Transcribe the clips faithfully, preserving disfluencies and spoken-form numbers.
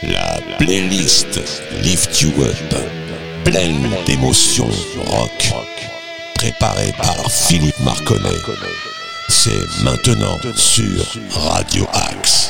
La playlist Lift You Up, pleine d'émotions rock, préparée par Philippe Marconnet. C'est maintenant sur Radio Axe.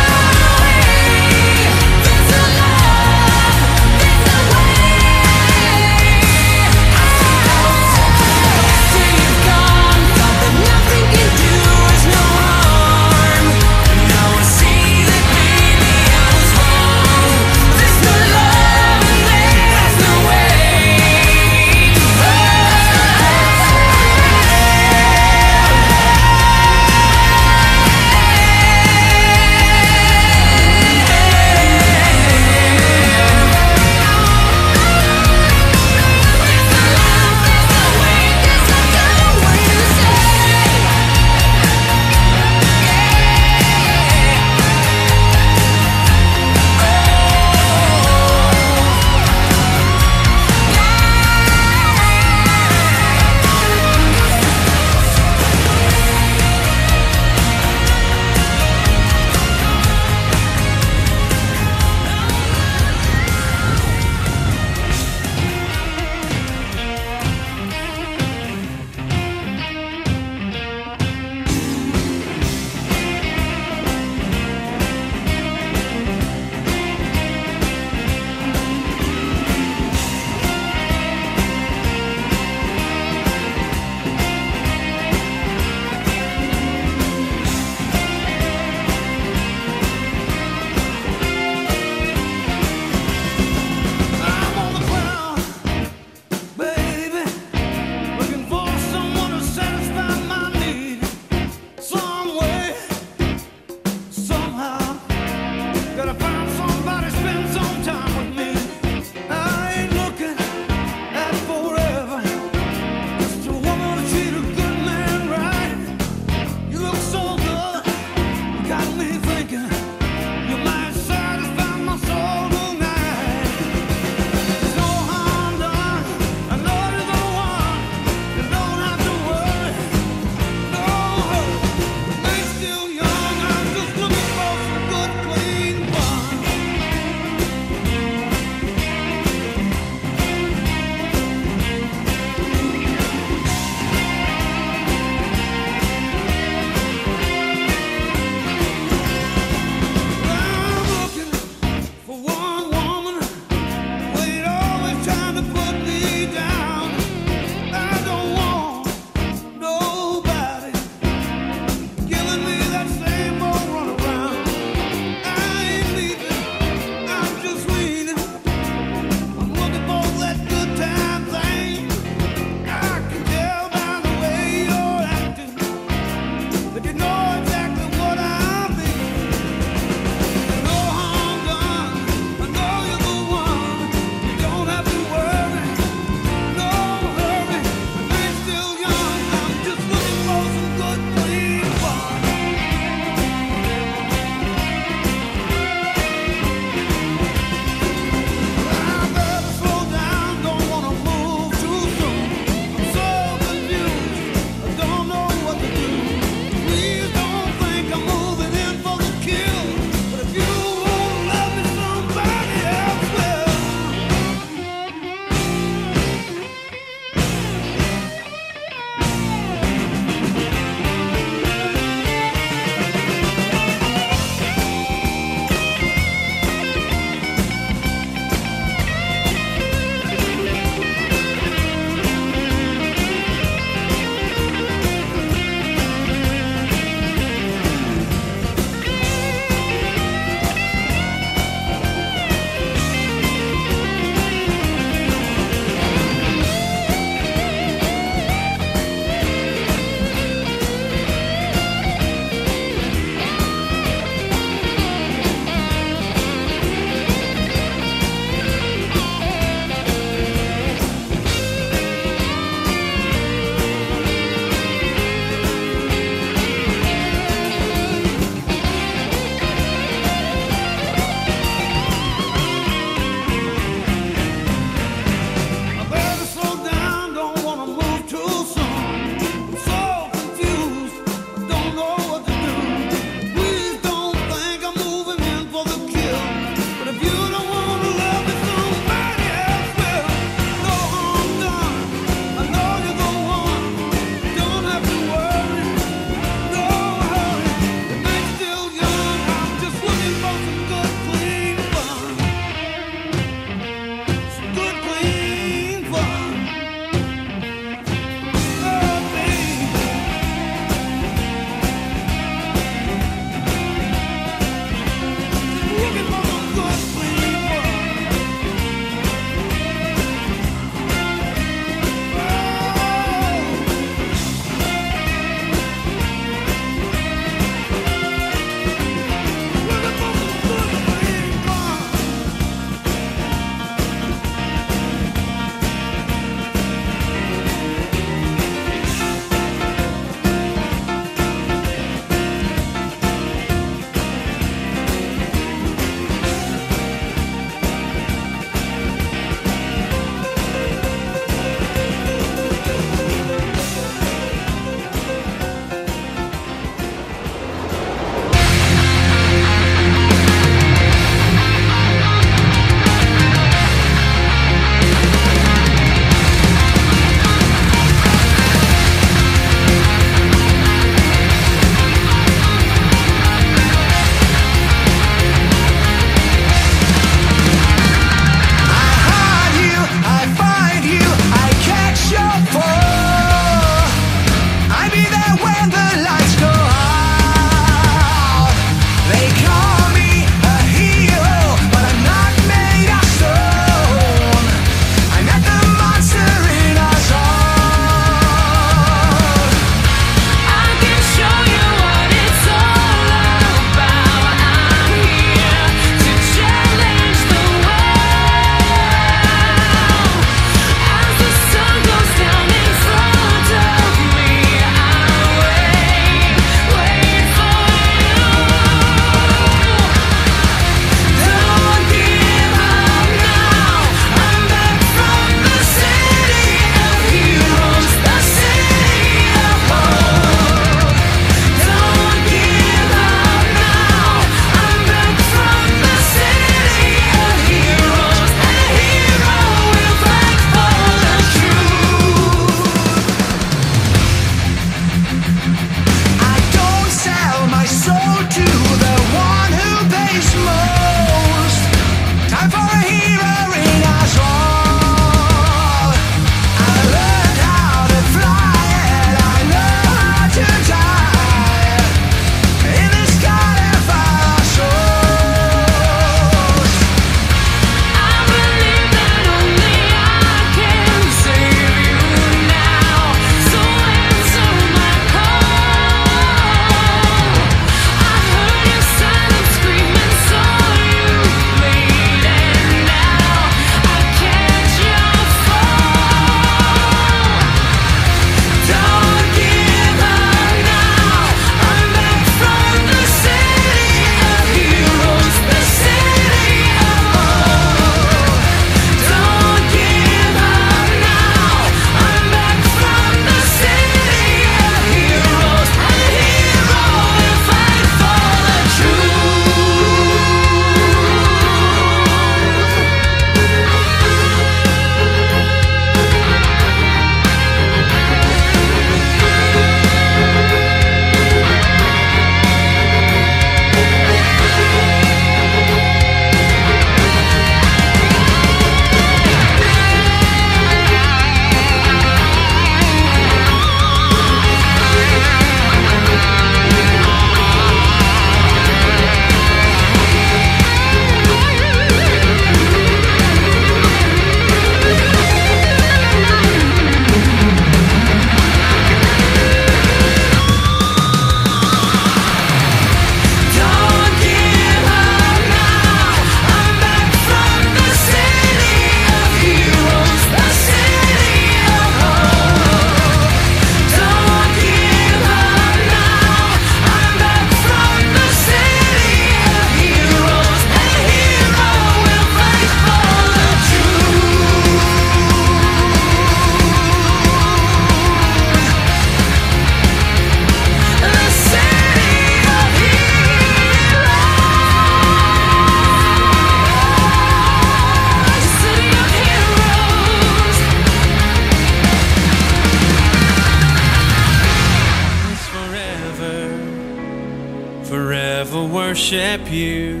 worship you.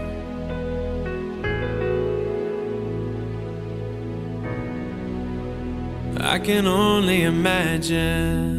I can only imagine.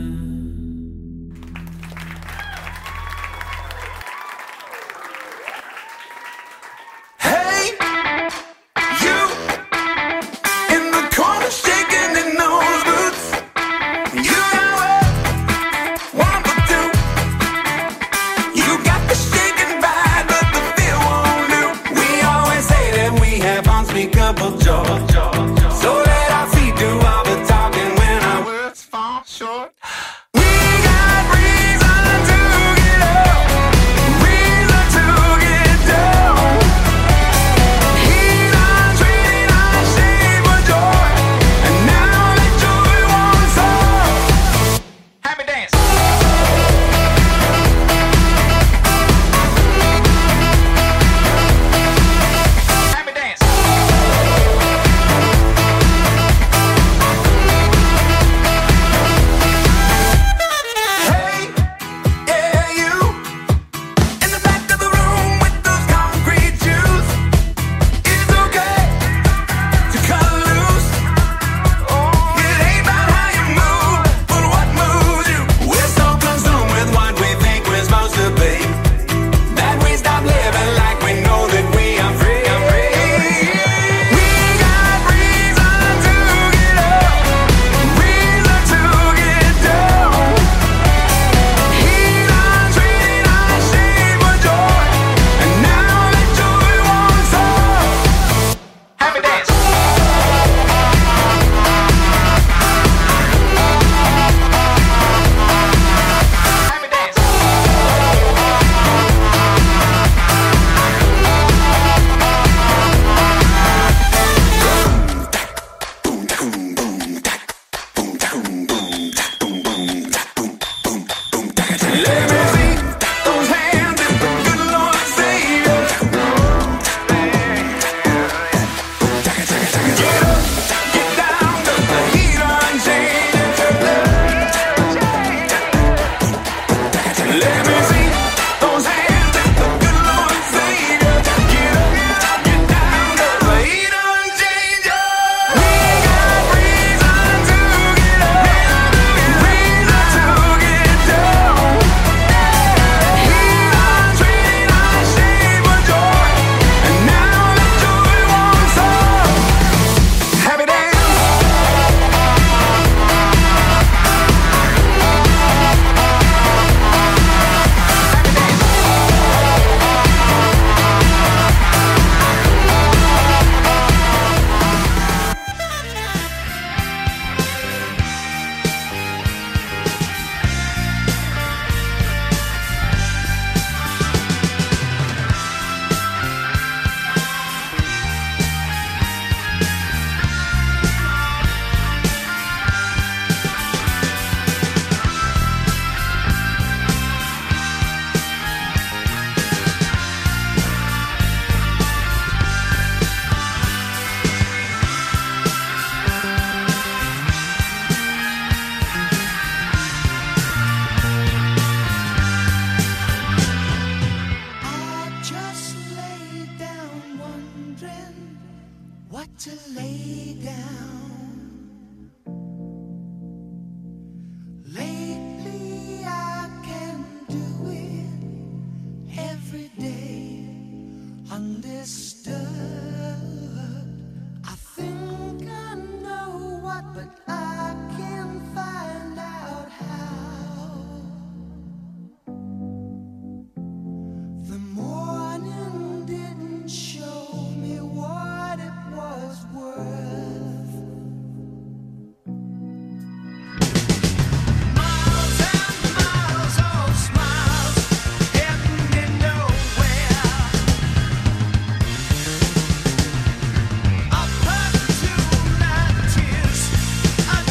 I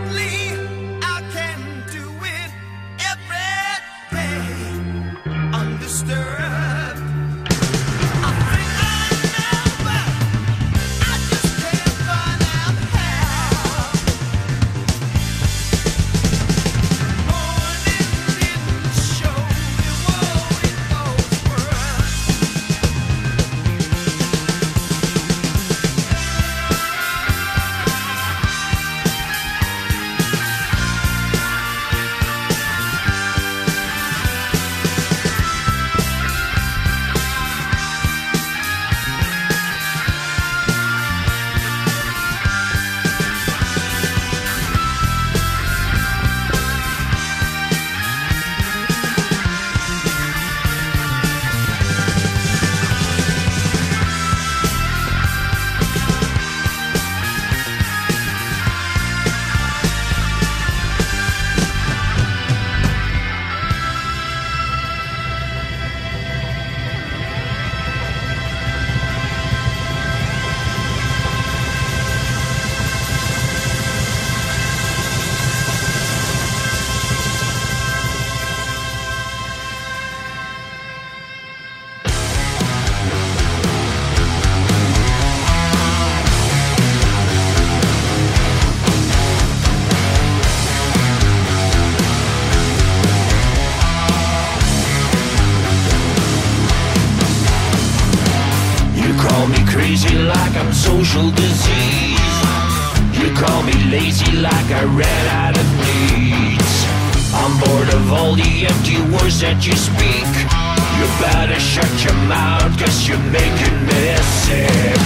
crazy like I'm social disease. You call me lazy like I ran out of needs. I'm bored of all the empty words that you speak. You better shut your mouth, cause you're making me sick.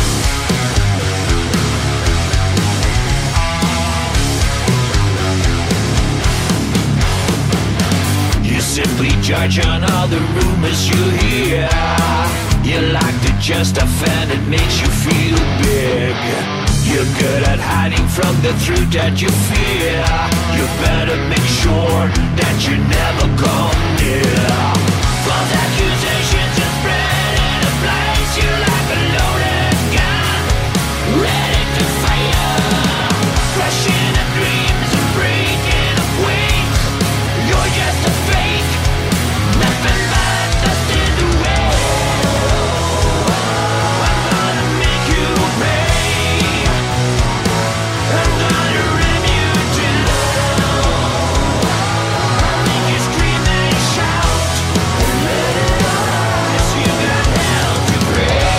You simply judge on all the rumors you hear. You like to just offend, it makes you feel big. You're good at hiding from the truth that you fear. You better make sure that you never come near. False accusations are spread in a place. You like a loaded gun, ready to fire, crushing the dreams and breaking the wings. You're just a fake, nothing but dust in the wind. I'm gonna make you pay. I'm gonna ram you down. I'll make you scream and shout and let it out, 'cause you got hell to pay.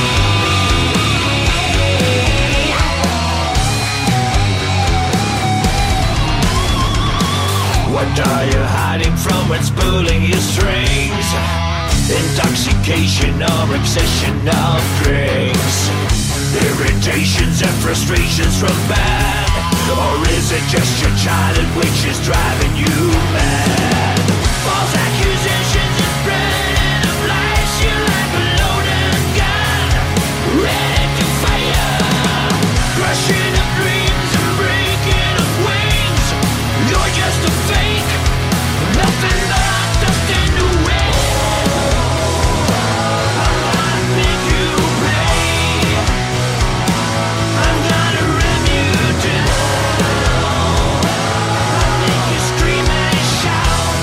What are you hiding from what's pulling your strings? Intoxication or obsession of drinks, irritations and frustrations from bad, or is it just your childhood which is driving you mad? False accusations are spread in a place. You like a loaded gun, ready to fire, crushing up dreams and breaking up wings. You're just a fake, nothing but dust in the wind. I'm gonna make you pay. I'm gonna ram you down. I'll make you scream and shout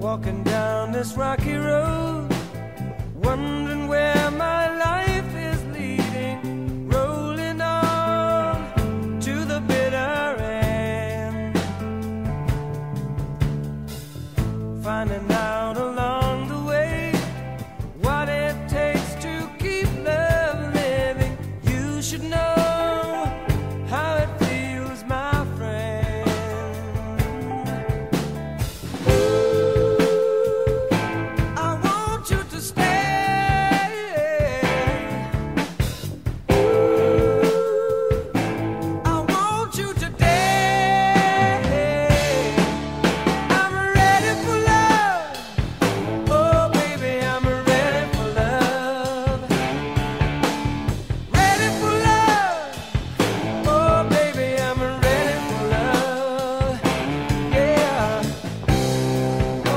walking down this rocky road, wondering where my life is leading, rolling on to the bitter end, finding out along the way what it takes to keep love living. You should know how it feels, my friend. I want you to stay. I want you to dance. I'm ready for love. Oh, baby, I'm ready for love. Ready for love. Oh, baby, I'm ready for love. Yeah. Oh,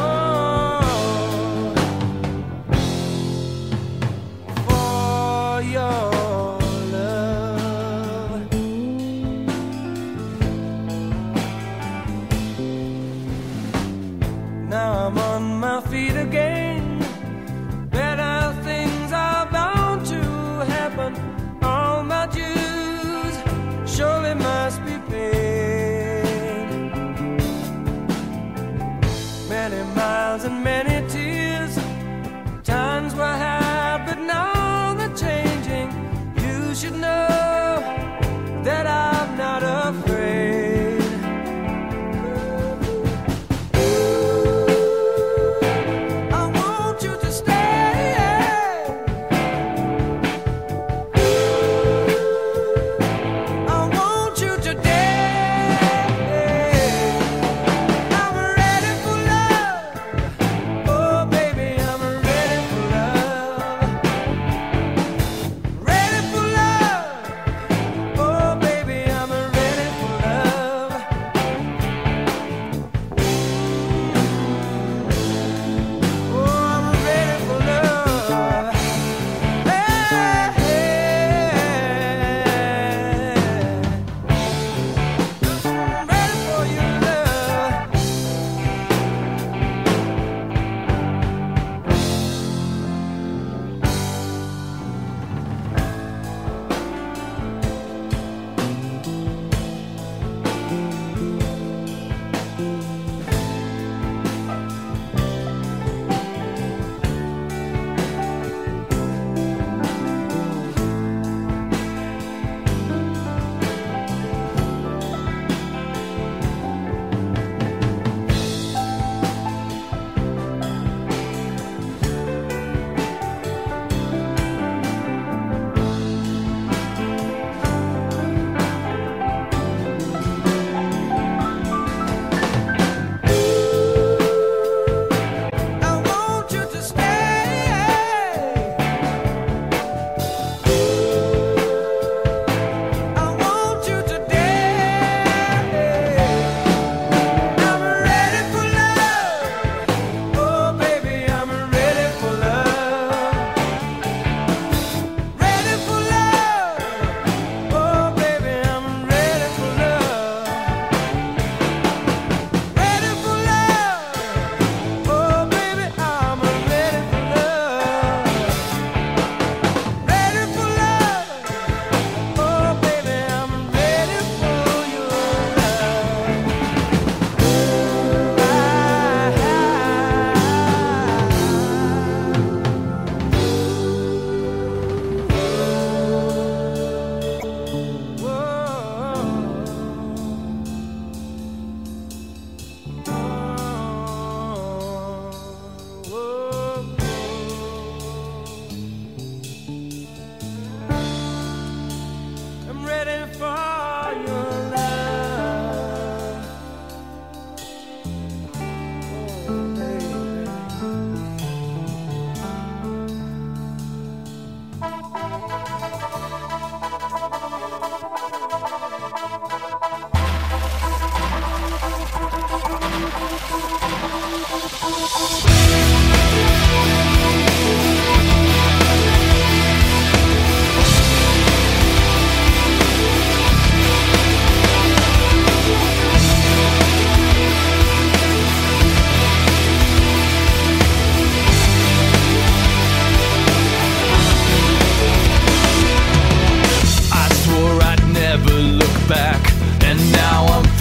for your love. Now I'm on my feet again. Better things are bound to happen. All my dues surely must be paid. Many miles and many tears. Times were hard, but now they're changing. You should know that I'm not afraid. I want you to stay. I want you to dance.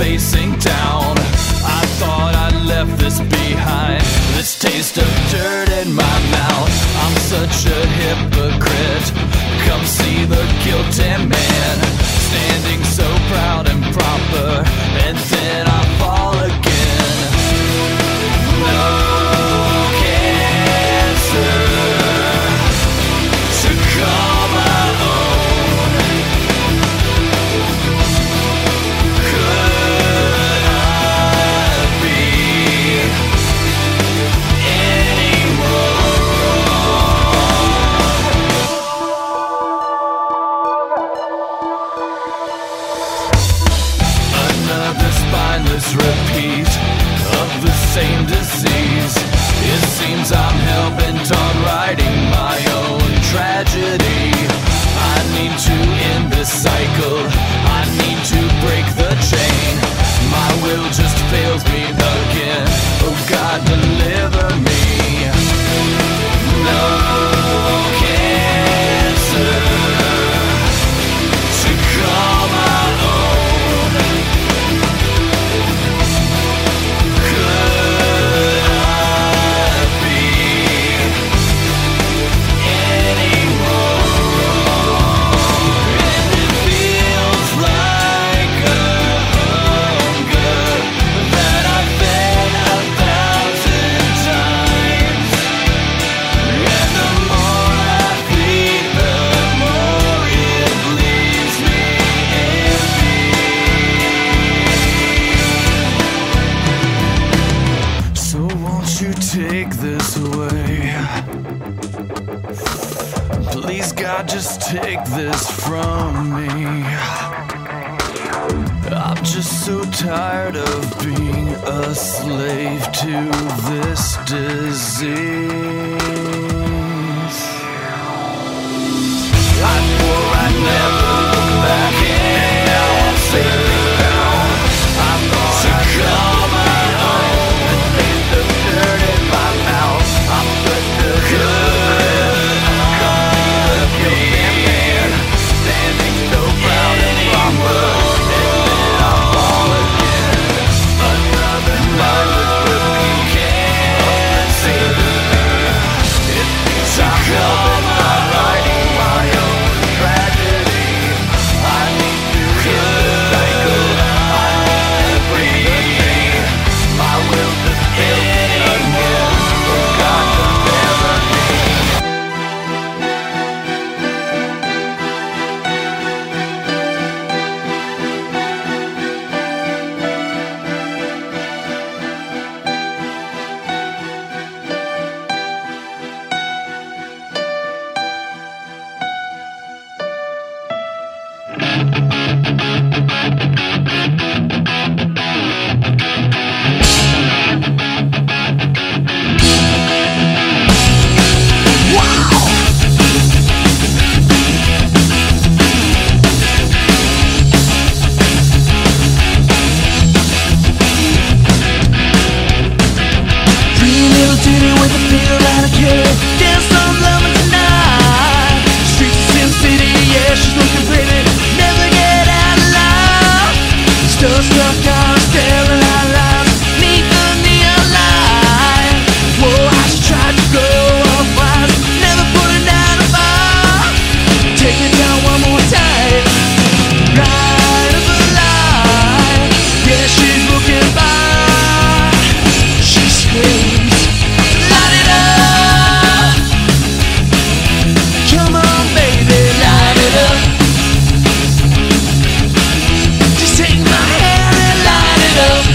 facing down. I thought I left this behind, this taste of dirt in my mouth. I'm such a hypocrite. Come see the guilty man, standing so proud and proper, and then I fall again. No cancer to call my own. Could I be another spineless repeat of the same disease? It seems I'm hell-bent on writing my own tragedy. I need to end this cycle. I need to break the chain. My will just fails me again. Oh God, deliver me. No cancer to call my own. Could I be any more? And it feels like a hunger that I've been a thousand times. And the more I feed, the more it leaves me empty. So won't you take this away? Please God, just take this from me. I'm just so tired of being a slave to this disease. I swore I'd never look back, and now I'm sailing down. I thought I'd call my own, the taste of dirt in my mouth. I'm such a good guilty man, standing so proud and proper, and then I fall again. Another mindless repeat can't save me. It seems I'm hell-bent on writing my own tragedy. I need to end the cycle. I need to break the chain. My will just fails me again. Oh God, deliver me. Pretty little titty with a feel and a kid. Dance some loving tonight. Streets of Sin City, yeah, she's looking pretty. Never get out of line. Still stuck down, staring out loud. Neath the neon light. Whoa, how she tried to go up wise. Never putting down a bar. Take it down one more time. Light of a light. Yeah, she's looking by. She screams, light it up. Come on, baby, light it up. Just take my hand and light it up.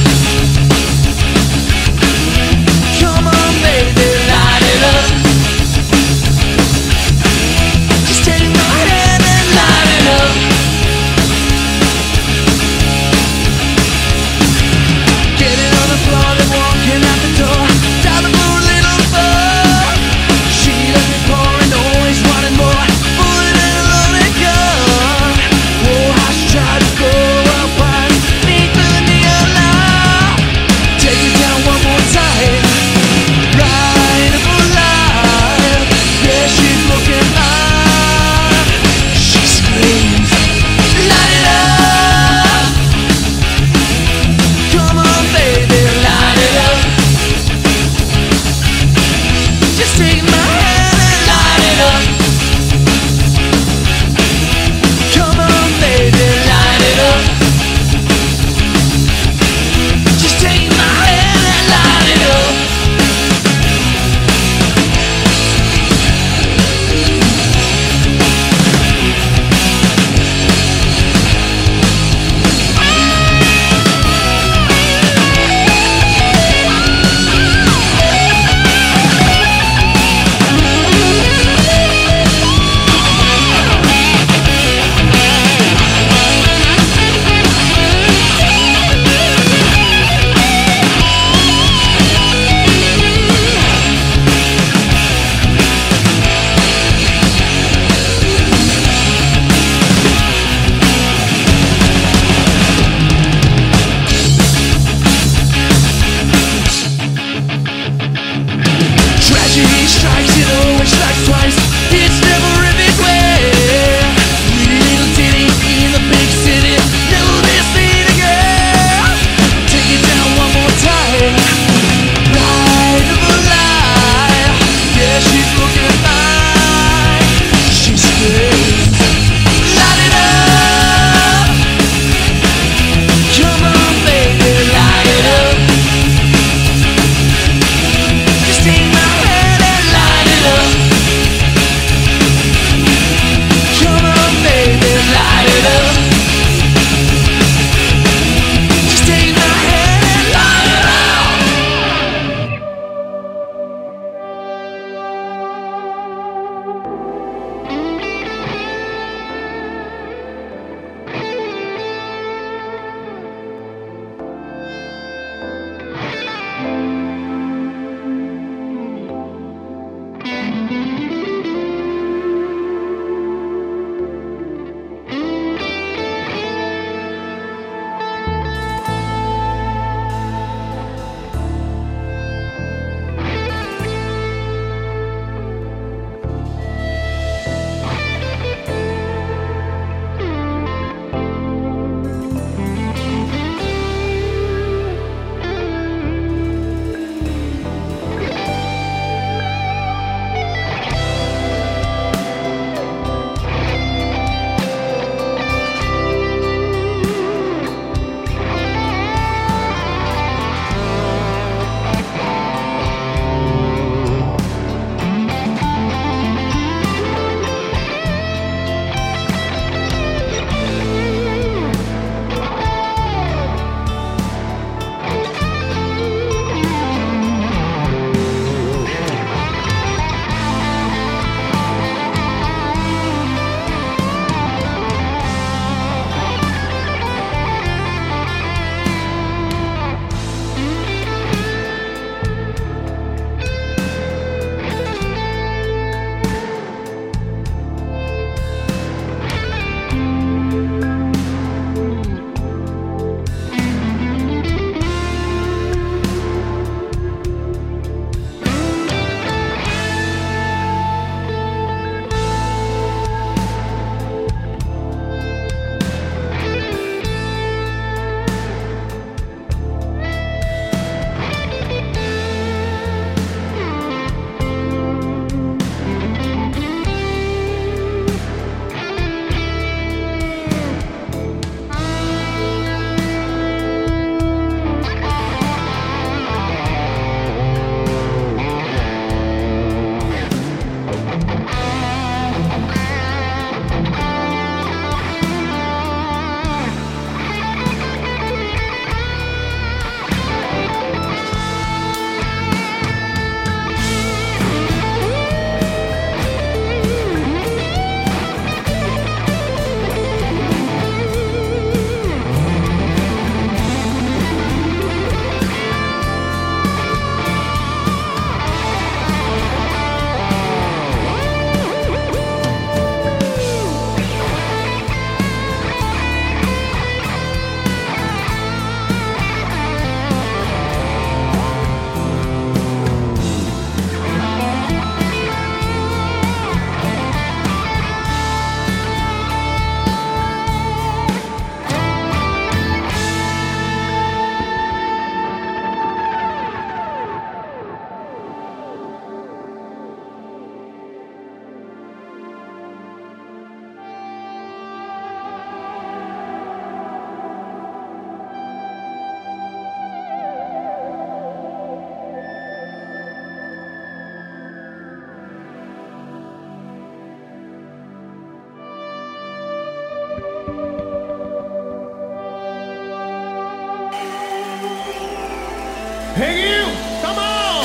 Hey you, come on!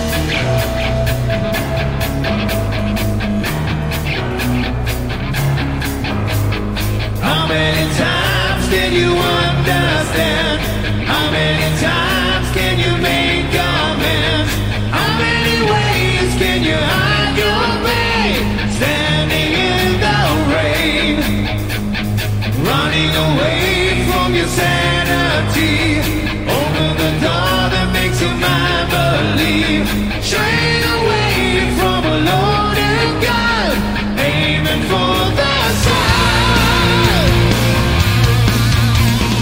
How many times can you understand? How many times can you make amends? How many ways can you hide your pain? Standing in the rain, running away from your sanity. Open the door that makes your mind believe. Straight away from a loaded gun, aiming for the sun.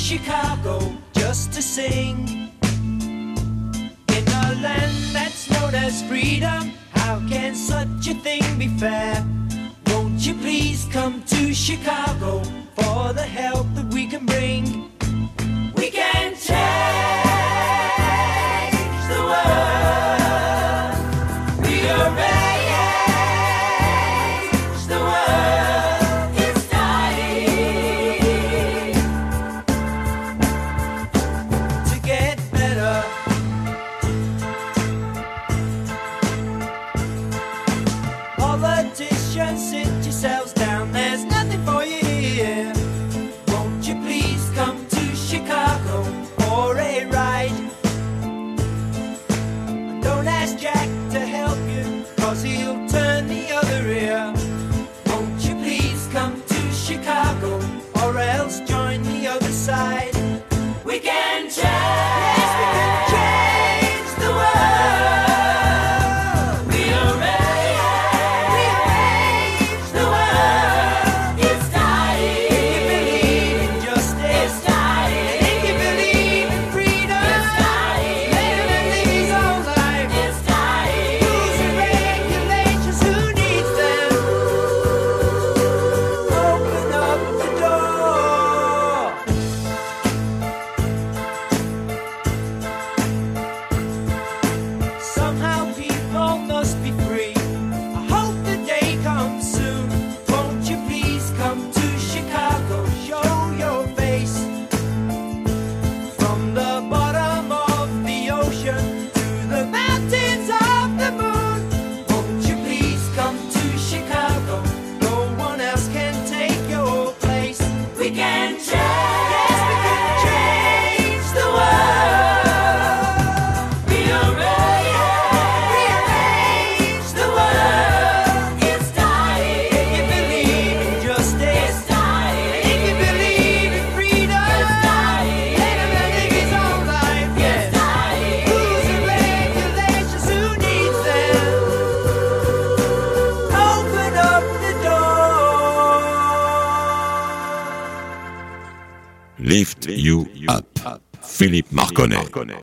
Chicago just to sing. In a land that's known as freedom, how can such a thing be fair? Won't you please come to Chicago for the help that we can bring? We can change the world. Rearrange the world. It's dying to get better. Politicians, sit yourselves down. There's nothing for you here. Won't you please come to Chicago for a ride? Don't ask Jack to help you, cause he'll turn the other ear. Won't you please come to Chicago, or else join the other side? We can change, yes, we can change the world. Rearrange, rearrange the world. It's dying. If you believe in justice, it's dying. If you believe in freedom, it's dying. Let him live his own life, it's dying. Rules and regulations, who needs them? Open up the door. Somehow people must be free. I hope the day comes soon. Won't you please come to Chicago, show your face? From the bottom of the ocean to the mountains of the moon. Won't you please come to Chicago? No one else can take your place. We can change, yes, we can change the world. Rearrange, rearrange the world. It's dying. If you believe in justice, it's dying. If you believe in freedom, it's dying. Let him live his own life, yes. It's dying. Rules and regulations, who needs them? Open up the door. Lift You Up, Philippe Marconnet.